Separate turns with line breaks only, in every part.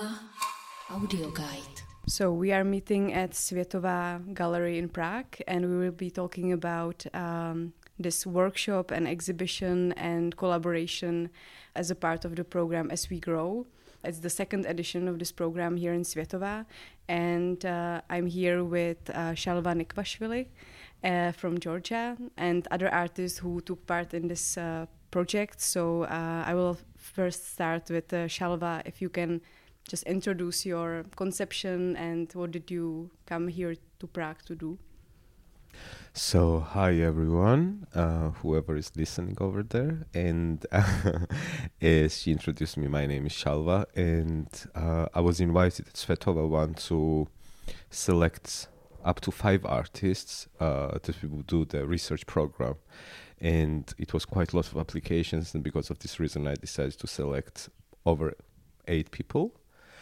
Světová Audio Guide.
So we are meeting at Světová Gallery in Prague, and we will be talking about this workshop and exhibition and collaboration as a part of the program As We Grow. It's the second edition of this program here in Světová, and I'm here with Shalva Nikvashvili from Georgia and other artists who took part in this project. So I will first start with Shalva, if you can just introduce your conception and what did you come here to Prague to do?
So, hi everyone, whoever is listening over there. And as she introduced me, my name is Shalva, and I was invited at Svetova One to select up to 5 artists that we would do the research program. And it was quite a lot of applications, and because of this reason, I decided to select over 8 people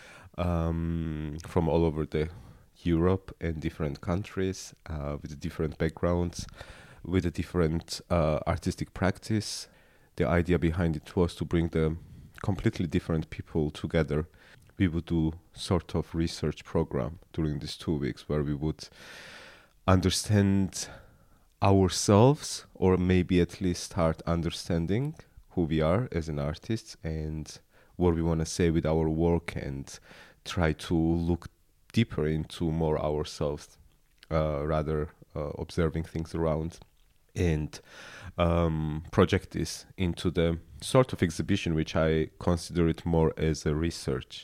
from all over the Europe and different countries with different backgrounds, with a different artistic practice. The idea behind it was to bring the completely different people together. We would do sort of research program during these 2 weeks where we would understand ourselves, or maybe at least start understanding who we are as an artist and what we want to say with our work, and try to look deeper into more ourselves, rather observing things around, and project this into the sort of exhibition which I consider it more as a research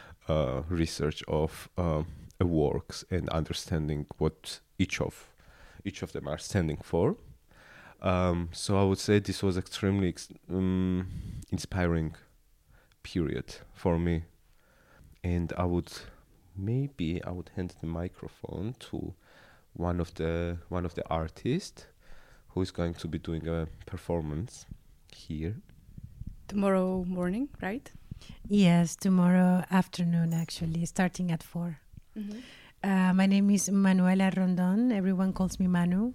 of works and understanding what each of them are standing for. So I would say this was extremely inspiring period for me, and I would hand the microphone to one of the artists who is going to be doing a performance here
Tomorrow morning, right?
Yes, tomorrow afternoon, actually, starting at 4. Mm-hmm. My name is Manuela Rondon. Everyone calls me Manu.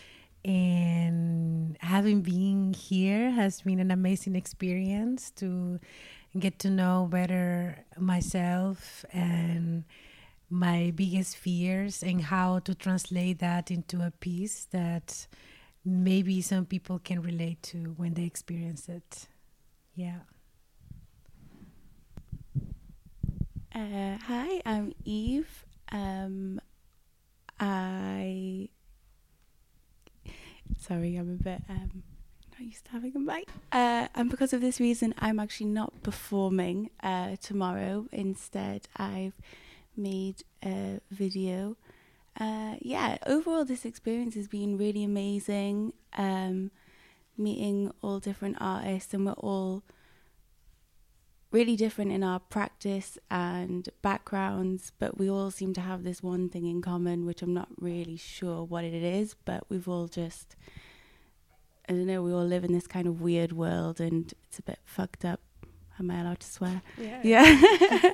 And having been here has been an amazing experience to get to know better myself and my biggest fears, and how to translate that into a piece that maybe some people can relate to when they experience it. Yeah.
Hi, I'm Eve. Sorry, I'm a bit not used to having a mic. And because of this reason, I'm actually not performing tomorrow. Instead, I've made a video. Overall, this experience has been really amazing. Meeting all different artists, and we're all really different in our practice and backgrounds, but we all seem to have this one thing in common, which I'm not really sure what it is, but we've all just, I don't know, we all live in this kind of weird world, and it's a bit fucked up. Am I allowed to swear? Yeah.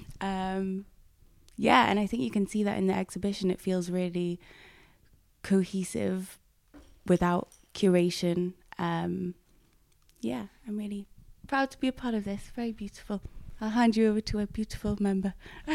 And I think you can see that in the exhibition. It feels really cohesive without curation. I'm really proud to be a part of this. Very beautiful. I'll hand you over to a beautiful member.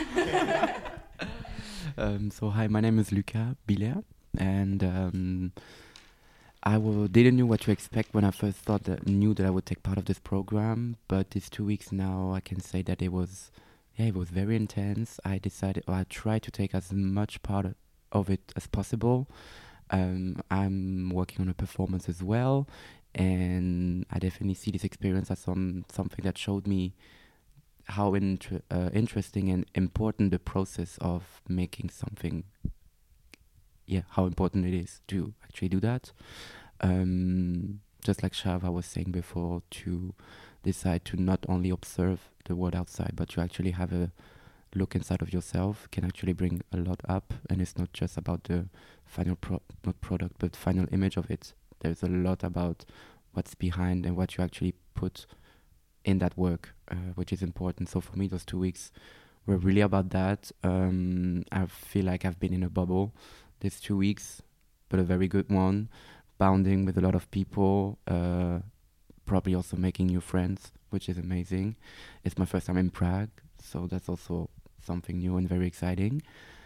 So hi, my name is Luca Biller, and I didn't know what to expect when I first knew that I would take part of this program. But these 2 weeks now, I can say that it was very intense. I tried to take as much part of it as possible. I'm working on a performance as well, and I definitely see this experience as something that showed me how interesting and important the process of making something, how important it is to actually do that. Just like Shava was saying before, to decide to not only observe the world outside, but to actually have a look inside of yourself can actually bring a lot up. And it's not just about the final product, but final image of it. There's a lot about what's behind and what you actually put in that work, which is important. So for me, those 2 weeks were really about that. I feel like I've been in a bubble these 2 weeks, but a very good one, bonding with a lot of people, probably also making new friends, which is amazing. It's my first time in Prague, So that's also something new and very exciting.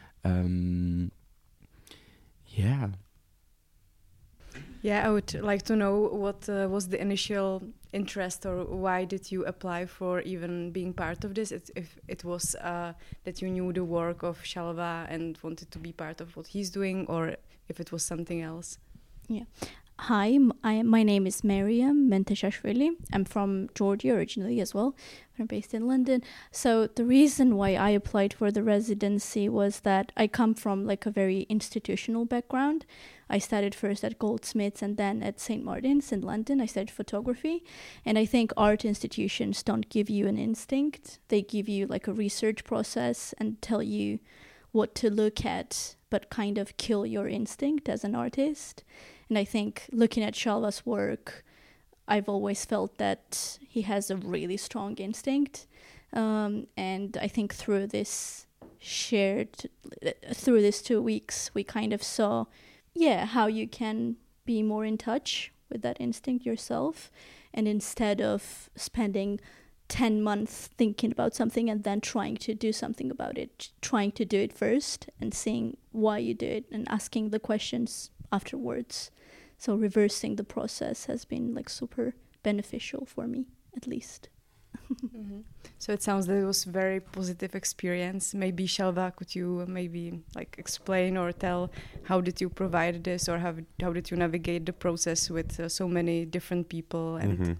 Yeah.
Yeah, I would like to know what was the initial interest, or why did you apply for even being part of this? If it was that you knew the work of Shalva and wanted to be part of what he's doing, or if it was something else.
Yeah. Hi, my name is Mariam Menteshashvili. I'm from Georgia originally as well. I'm based in London. So the reason why I applied for the residency was that I come from like a very institutional background. I studied first at Goldsmiths and then at St. Martin's in London. I studied photography. And I think art institutions don't give you an instinct. They give you like a research process and tell you what to look at, but kind of kill your instinct as an artist. And I think looking at Shalva's work, I've always felt that he has a really strong instinct. And I think through these 2 weeks, we kind of saw, how you can be more in touch with that instinct yourself. And instead of spending 10 months thinking about something and then trying to do something about it, trying to do it first and seeing why you do it and asking the questions afterwards. So reversing the process has been like super beneficial for me, at least.
Mm-hmm. So it sounds that it was a very positive experience. Maybe Shalva, could you maybe like explain or tell how did you provide this, or how did you navigate the process with so many different people? And
Mm-hmm.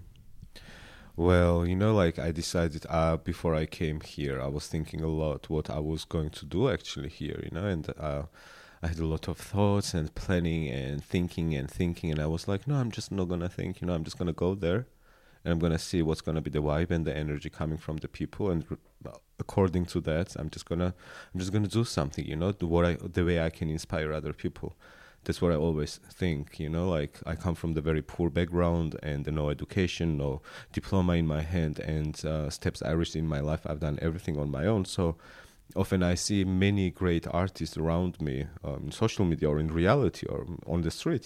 Well, like I decided before I came here, I was thinking a lot what I was going to do actually here, and I had a lot of thoughts and planning and thinking, and I was like, no, I'm just not gonna think, I'm just gonna go there, and I'm gonna see what's gonna be the vibe and the energy coming from the people, and according to that, I'm just gonna do something, the way I can inspire other people. That's what I always think, like I come from the very poor background and no education, no diploma in my hand, and steps I reached in my life, I've done everything on my own. So often I see many great artists around me in social media or in reality or on the street,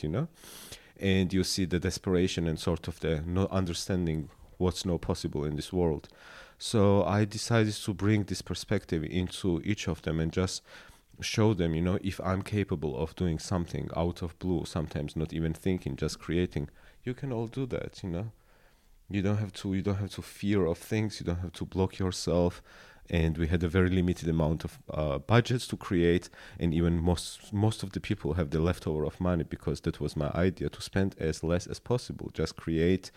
and you see the desperation and sort of the not understanding what's not possible in this world. So I decided to bring this perspective into each of them and just show them, if I'm capable of doing something out of blue, sometimes not even thinking, just creating, you can all do that, You don't have to fear of things, you don't have to block yourself. And we had a very limited amount of budgets to create, and even most of the people have the leftover of money, because that was my idea, to spend as less as possible, just create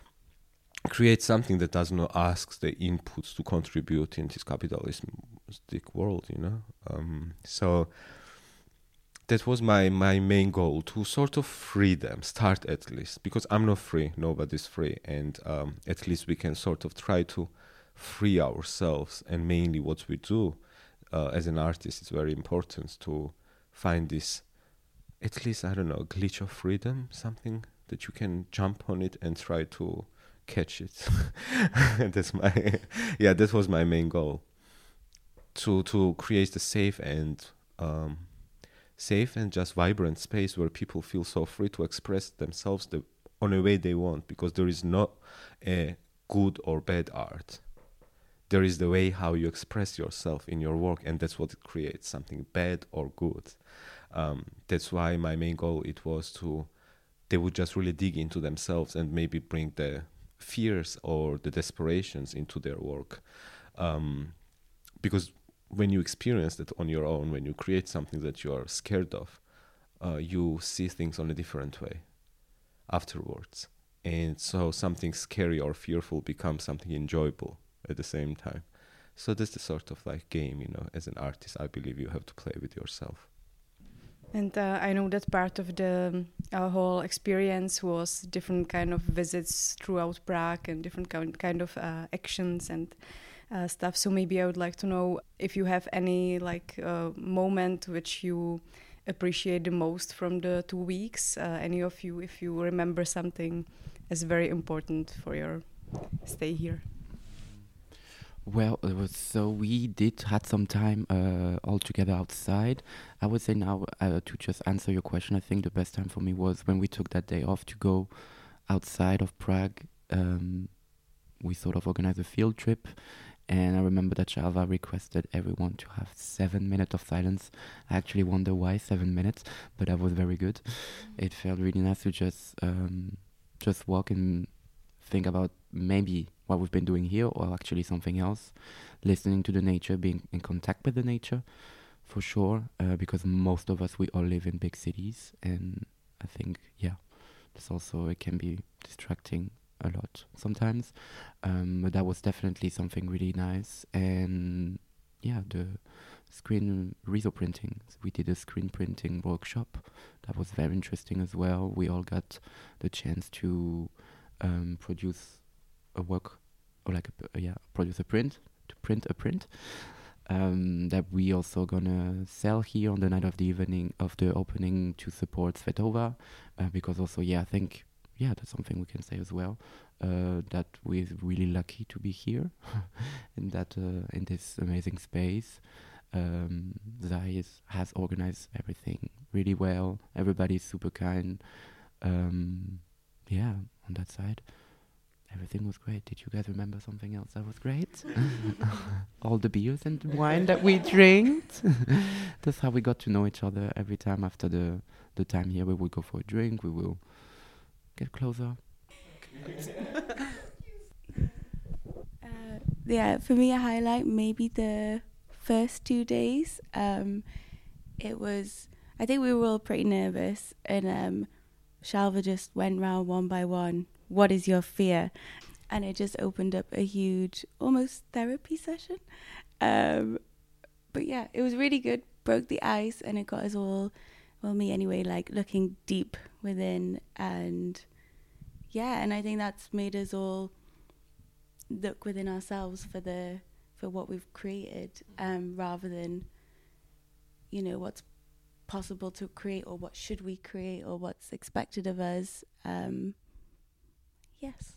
something that does not ask the inputs to contribute in this capitalistic world, So that was my main goal, to sort of free them, start at least, because I'm not free, nobody's free, and at least we can sort of try to free ourselves. And mainly what we do as an artist is very important, to find this, at least, I don't know, glitch of freedom, something that you can jump on it and try to catch it. That was my main goal, to create a safe and just vibrant space where people feel so free to express themselves on a way they want, because there is not a good or bad art. There is the way how you express yourself in your work, and that's what it creates, something bad or good. That's why my main goal, it was they would just really dig into themselves and maybe bring the fears or the desperations into their work. Because when you experience that on your own, when you create something that you are scared of, you see things on a different way afterwards. And so something scary or fearful becomes something enjoyable at the same time. So that's the sort of like game, as an artist, I believe you have to play with yourself.
And I know that part of the whole experience was different kind of visits throughout Prague and different kind of actions and stuff. So maybe I would like to know if you have any moment which you appreciate the most from the 2 weeks. Any of you, if you remember something as very important for your stay here.
Well, we had some time all together outside. I would say now, to just answer your question, I think the best time for me was when we took that day off to go outside of Prague. We sort of organized a field trip, And I remember that Shalva requested everyone to have 7 minutes of silence. I actually wonder why 7 minutes, but that was very good. It felt really nice to just walk and think about maybe what we've been doing here or actually something else. Listening to the nature, being in contact with the nature, for sure, because most of us, we all live in big cities, and I think, it can be distracting a lot sometimes, but that was definitely something really nice. And the screen reso printing, we did a screen printing workshop that was very interesting as well. We all got the chance to produce a work, or produce a print, to print a print that we also gonna sell here on the night of the evening of the opening to support Svetova, because also I think that's something we can say as well, that we're really lucky to be here in that in this amazing space. Zai has organized everything really well. Everybody's super kind. On that side, everything was great. Did you guys remember something else that was great? All the beers and wine that we drank. That's how we got to know each other. Every time after the time here, we will go for a drink. We will get closer.
For me, a highlight maybe the first 2 days. I think we were all pretty nervous, and Shalva just went round one by one. What is your fear? And it just opened up a huge, almost therapy session. But it was really good. Broke the ice, and it got us all, well, me anyway, like looking deep within. And I think that's made us all look within ourselves for what we've created, rather than, what's possible to create, or what should we create, or what's expected of us. Yes.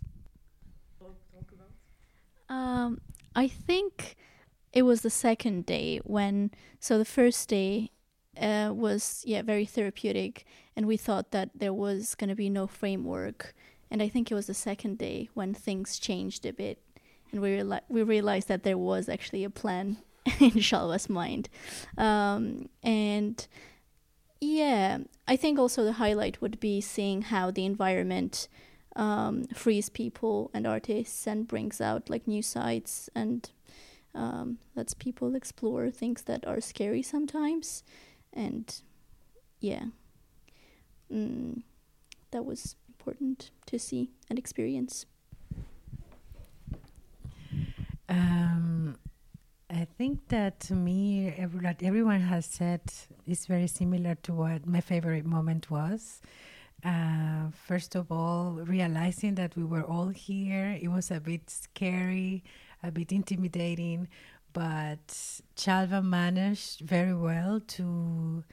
I think it was the second day so the first day was very therapeutic, and we thought that there was going to be no framework, and I think it was the second day when things changed a bit, and we realized that there was actually a plan in Shalva's mind. I think also the highlight would be seeing how the environment frees people and artists and brings out like new sides, and lets people explore things that are scary sometimes. And that was important to see and experience.
I think that to me, what everyone has said is very similar to what my favorite moment was. First of all, realizing that we were all here, it was a bit scary, a bit intimidating, but Shalva managed very well to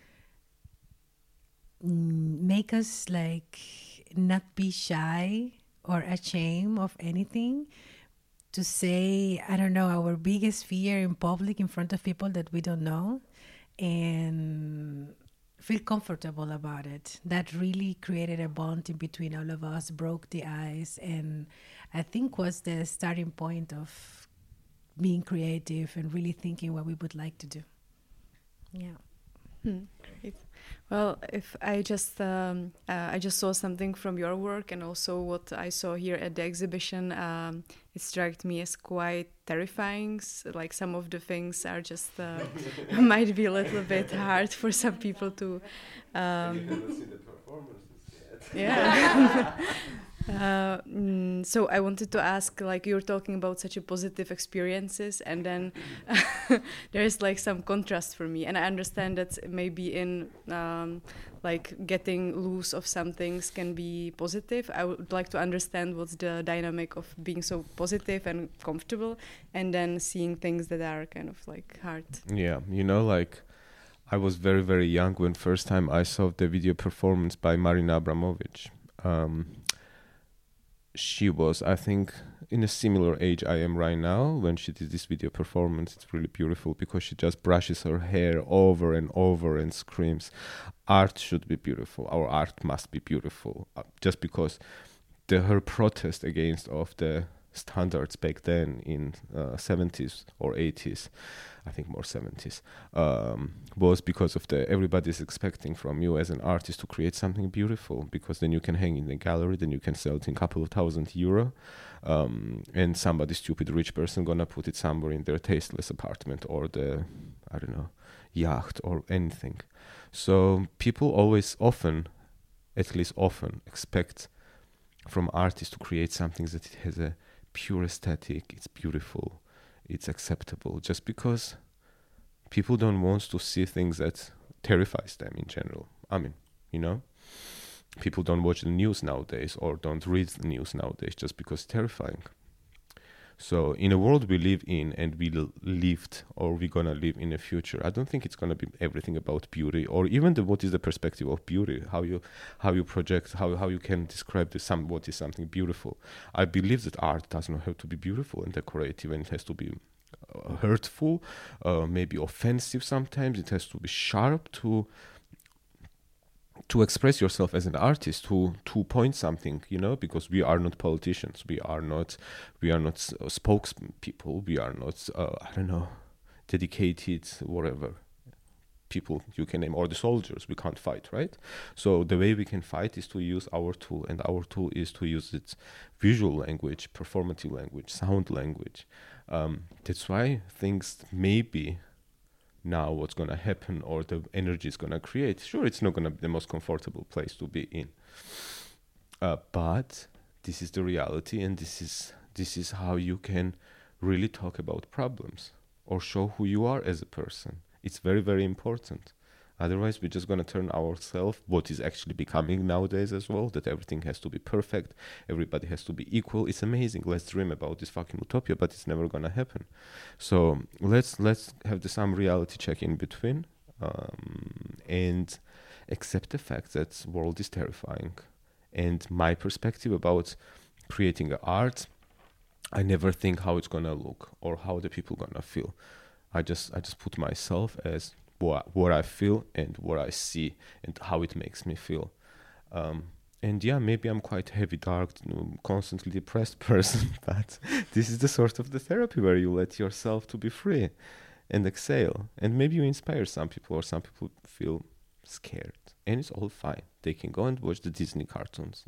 make us like not be shy or ashamed of anything, to say, I don't know, our biggest fear in public in front of people that we don't know, and feel comfortable about it. That really created a bond in between all of us, broke the ice, and I think was the starting point of being creative and really thinking what we would like to do.
Great. Well, if I just saw something from your work, and also what I saw here at the exhibition, it struck me as quite terrifying. Like some of the things are just might be a little bit hard for some people to. Yeah. So I wanted to ask, like, you're talking about such a positive experiences, and then there's like some contrast for me, and I understand that maybe in like getting loose of some things can be positive. I would like to understand what's the dynamic of being so positive and comfortable, and then seeing things that are kind of like hard.
Yeah, like I was very, very young when first time I saw the video performance by Marina Abramovic. She was, I think, in a similar age I am right now when she did this video performance. It's really beautiful because she just brushes her hair over and over and screams, art should be beautiful, our art must be beautiful. Just because her protest against of the standards back then in 70s or 80s, I think more 70s, was because of everybody's expecting from you as an artist to create something beautiful, because then you can hang in the gallery, then you can sell it in a couple of €1,000, and somebody stupid rich person gonna put it somewhere in their tasteless apartment or the, I don't know, yacht or anything. So people at least often expect from artists to create something that it has a pure aesthetic, it's beautiful, it's acceptable, just because people don't want to see things that terrifies them in general. I mean, people don't watch the news nowadays or don't read the news nowadays just because it's terrifying. So in a world we live in, and we're gonna live in the future, I don't think it's gonna be everything about beauty, or even what is the perspective of beauty, how you project, how you can describe what is something beautiful. I believe that art does not have to be beautiful and decorative, and it has to be hurtful, maybe offensive sometimes. It has to be sharp to express yourself as an artist, to point something, because we are not politicians, we are not spokespeople, we are not dedicated whatever people you can name, or the soldiers. We can't fight, right? So the way we can fight is to use our tool, and our tool is to use its visual language, performative language, sound language. That's why things maybe now what's going to happen, or the energy is going to create, sure, it's not going to be the most comfortable place to be in, but this is the reality, and this is how you can really talk about problems or show who you are as a person. It's very, very important. Otherwise, we're just going to turn ourselves, what is actually becoming nowadays as well, that everything has to be perfect, everybody has to be equal. It's amazing. Let's dream about this fucking utopia, but it's never going to happen. So let's have some reality check in between, and accept the fact that the world is terrifying. And my perspective about creating art, I never think how it's going to look or how the people going to feel. I just put myself as what I feel and what I see and how it makes me feel. And yeah, maybe I'm quite heavy, dark, constantly depressed person, but this is the sort of the therapy where you let yourself to be free and exhale. And maybe you inspire some people, or some people feel scared. And it's all fine. They can go and watch the Disney cartoons,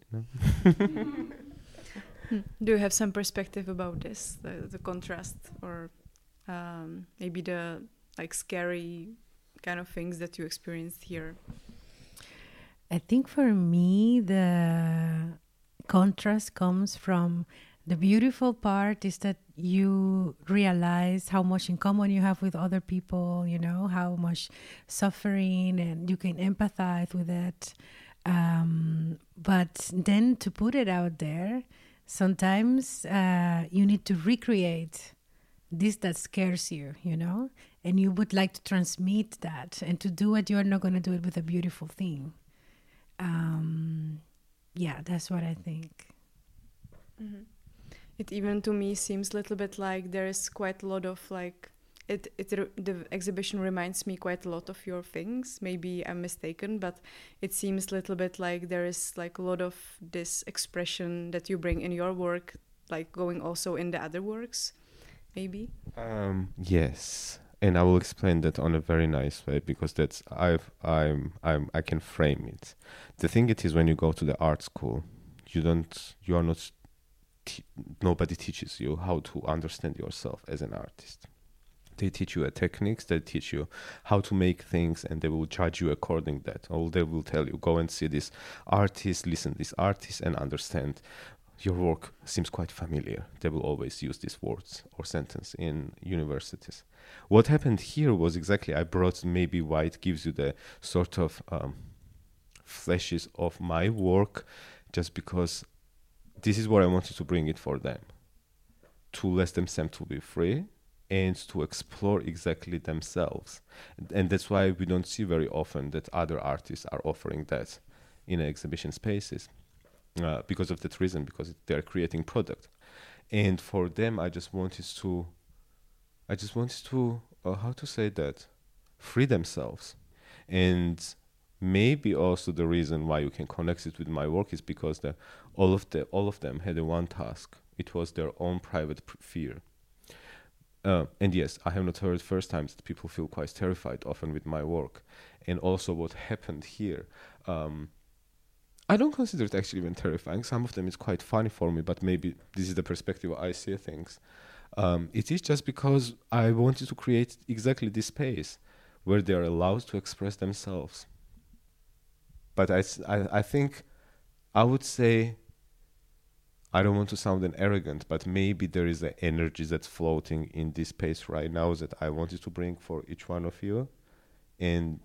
Do you have some perspective about this, the contrast, or maybe the scary kind of things that you experienced here?
I think for me, the contrast comes from the beautiful part is that you realize how much in common you have with other people, how much suffering, and you can empathize with it. But then to put it out there, sometimes you need to recreate this that scares you, and you would like to transmit that, and to do it, you're not going to do it with a beautiful thing. Yeah, that's what I think.
Mm-hmm. It even to me seems a little bit like there is quite a lot of the exhibition reminds me quite a lot of your things. Maybe I'm mistaken, but it seems a little bit like there is a lot of this expression that you bring in your work, going also in the other works, maybe.
Yes, and I will explain that on a very nice way, because that's I can frame it. The thing it is, when you go to the art school, nobody teaches you how to understand yourself as an artist. They teach you techniques, they teach you how to make things, and they will judge you according to that. Or they will tell you, go and see this artist, listen to this artist, and understand. Your work seems quite familiar. They will always use these words or sentence in universities. What happened here was exactly, I brought maybe why it gives you the sort of flashes of my work, just because this is what I wanted to bring it for them, to let them to be free and to explore exactly themselves. And that's why we don't see very often that other artists are offering that in exhibition spaces, because of that reason, because they're creating product. And for them, I just wanted to how to say that, free themselves. And maybe also the reason why you can connect it with my work is because all of them had one task, It was their own private fear. And yes, I have not heard first times that people feel quite terrified often with my work. And also what happened here, I don't consider it actually even terrifying. Some of them is quite funny for me, but maybe this is the perspective I see things. It is just because I wanted to create exactly this space where they are allowed to express themselves. But I think I would say, I don't want to sound arrogant, but maybe there is an energy that's floating in this space right now that I wanted to bring for each one of you. And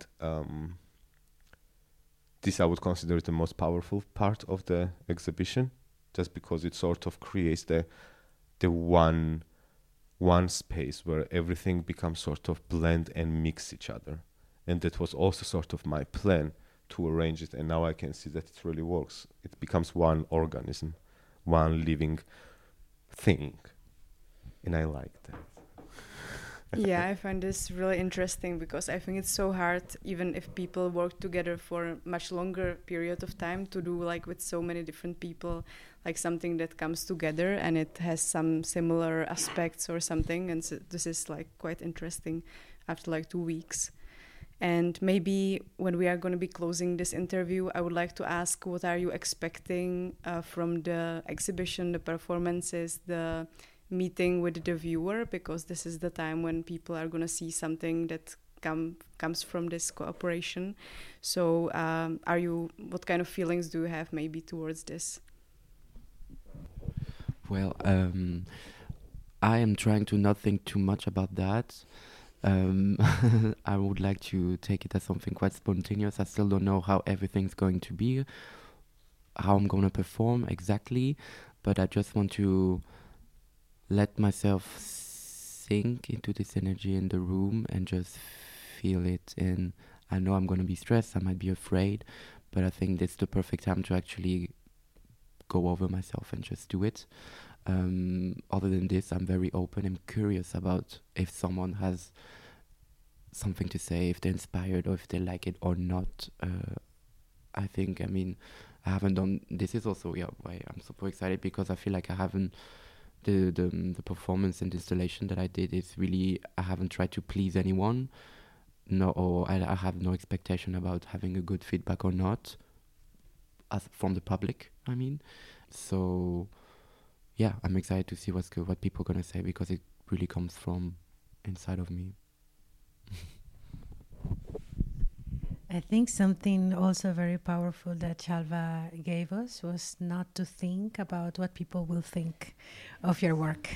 this I would consider the most powerful part of the exhibition, just because it sort of creates the one space where everything becomes sort of blend and mix each other. And that was also sort of my plan to arrange it, and now I can see that it really works. It becomes one organism, one living thing, and I like that.
Yeah, I find this really interesting because I think it's so hard, even if people work together for a much longer period of time, to do like with so many different people, like something that comes together and it has some similar aspects or something. And so this is like quite interesting after like 2 weeks. And maybe when we are going to be closing this interview, I would like to ask, what are you expecting from the exhibition, the performances, the meeting with the viewer, because this is the time when people are going to see something that comes from this cooperation. So what kind of feelings do you have maybe towards this?
Well, I am trying to not think too much about that. I would like to take it as something quite spontaneous. I still don't know how everything's going to be, how I'm going to perform exactly, but I just want to let myself sink into this energy in the room and just feel it. And I know I'm going to be stressed, I might be afraid, but I think this is the perfect time to actually go over myself and just do it. Other than this, I'm very open and curious about if someone has something to say, if they're inspired or if they like it or not. I haven't done, this is also why I'm super excited, because I feel like I haven't, the performance and installation that I did is really, I haven't tried to please anyone. No, or I have no expectation about having a good feedback or not, from the public, I mean. So yeah, I'm excited to see what people are going to say, because it really comes from inside of me.
I think something also very powerful that Shalva gave us was not to think about what people will think of your work.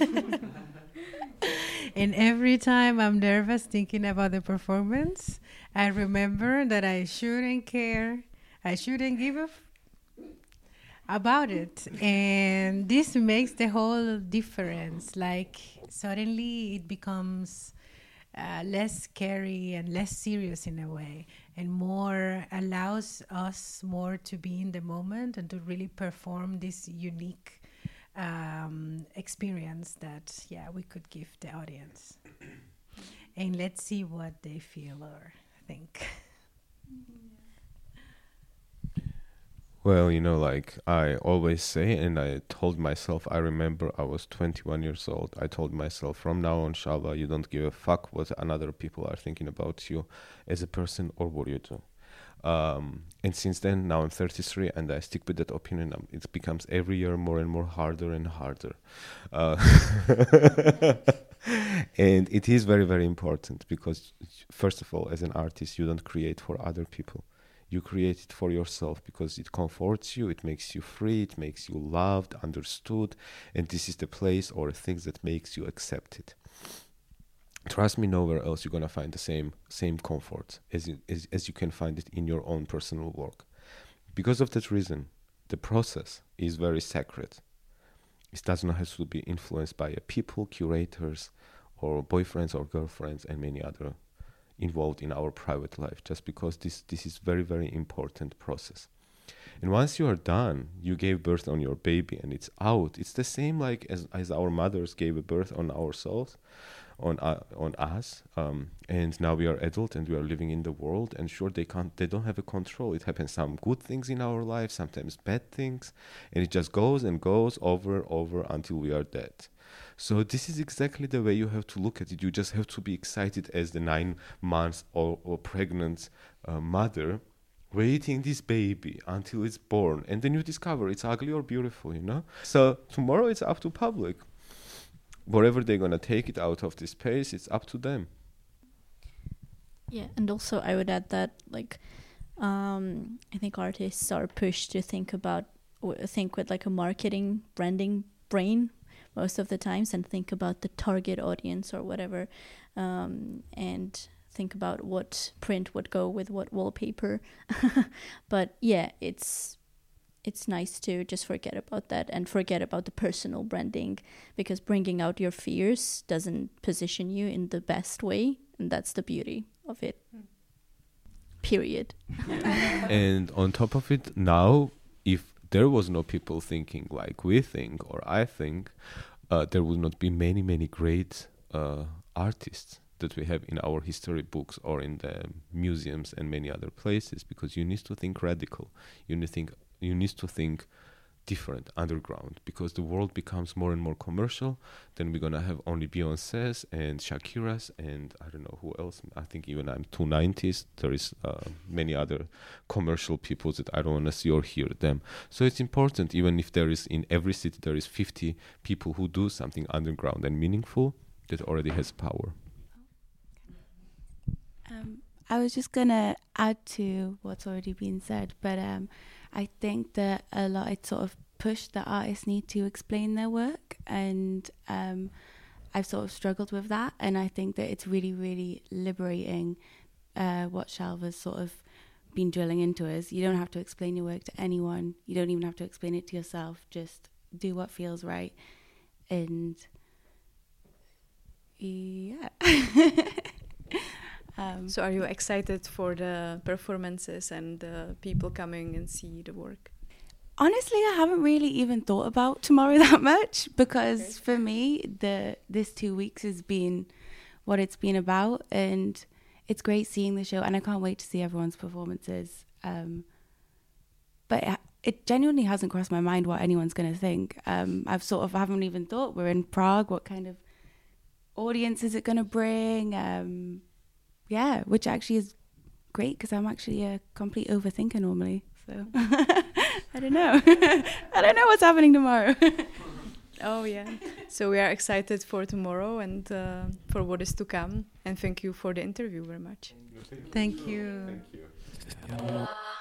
And every time I'm nervous thinking about the performance, I remember that I shouldn't care, I shouldn't give a about it. And this makes the whole difference. Like suddenly it becomes less scary and less serious in a way, and more allows us more to be in the moment and to really perform this unique experience that we could give the audience. And let's see what they feel or think.
Well, like I always say, and I told myself, I remember I was 21 years old. I told myself, from now on, Shalva, you don't give a fuck what other people are thinking about you as a person or what you do. And since then, now I'm 33, and I stick with that opinion. It becomes every year more and more harder and harder. And it is very, very important, because first of all, as an artist, you don't create for other people. You create it for yourself, because it comforts you, it makes you free, it makes you loved, understood, and this is the place or things that makes you accepted. Trust me, nowhere else you're gonna find the same comfort as you can find it in your own personal work. Because of that reason, the process is very sacred. It does not have to be influenced by people, curators, or boyfriends or girlfriends, and many other involved in our private life, just because this is very, very important process. And once you are done, you gave birth on your baby and it's out. It's the same like as our mothers gave a birth on ourselves. on us, and now we are adult and we are living in the world, and sure, they don't have a control. It happens some good things in our life, sometimes bad things, and it just goes and goes over until we are dead. So this is exactly the way you have to look at it. You just have to be excited as the 9 months or pregnant mother, waiting this baby until it's born, and then you discover it's ugly or beautiful, you know. So tomorrow it's up to public. Wherever they're gonna take it out of this space, it's up to them.
Yeah, and also I would add that I think artists are pushed to think with like a marketing branding brain most of the times, and think about the target audience or whatever, and think about what print would go with what wallpaper. But yeah, it's nice to just forget about that and forget about the personal branding, because bringing out your fears doesn't position you in the best way, and that's the beauty of it. Period.
And on top of it, now, if there was no people thinking like we think or I think, there would not be many great artists that we have in our history books or in the museums and many other places, because you need to think radical. You need to think different, underground, because the world becomes more and more commercial. Then we're gonna have only Beyoncé's and Shakira's and I don't know who else. I think even I'm 290s. There is many other commercial people that I don't want to see or hear them. So it's important, even if there is in every city there is 50 people who do something underground and meaningful, that already has power.
I was just gonna add to what's already been said, but I think that a lot it's sort of pushed that artists need to explain their work, and I've sort of struggled with that, and I think that it's really liberating what Shalva's sort of been drilling into us. You don't have to explain your work to anyone. You don't even have to explain it to yourself. Just do what feels right, and yeah.
So are you excited for the performances and the people coming and see the work?
Honestly, I haven't really even thought about tomorrow that much, because for me, this 2 weeks has been what it's been about, and it's great seeing the show, and I can't wait to see everyone's performances. But it genuinely hasn't crossed my mind what anyone's going to think. Haven't even thought. We're in Prague. What kind of audience is it going to bring? Yeah, which actually is great, because I'm actually a complete overthinker normally. So I don't know. I don't know what's happening tomorrow.
Oh, yeah. So we are excited for tomorrow and for what is to come. And thank you for the interview very much.
Thank you.
Thank you.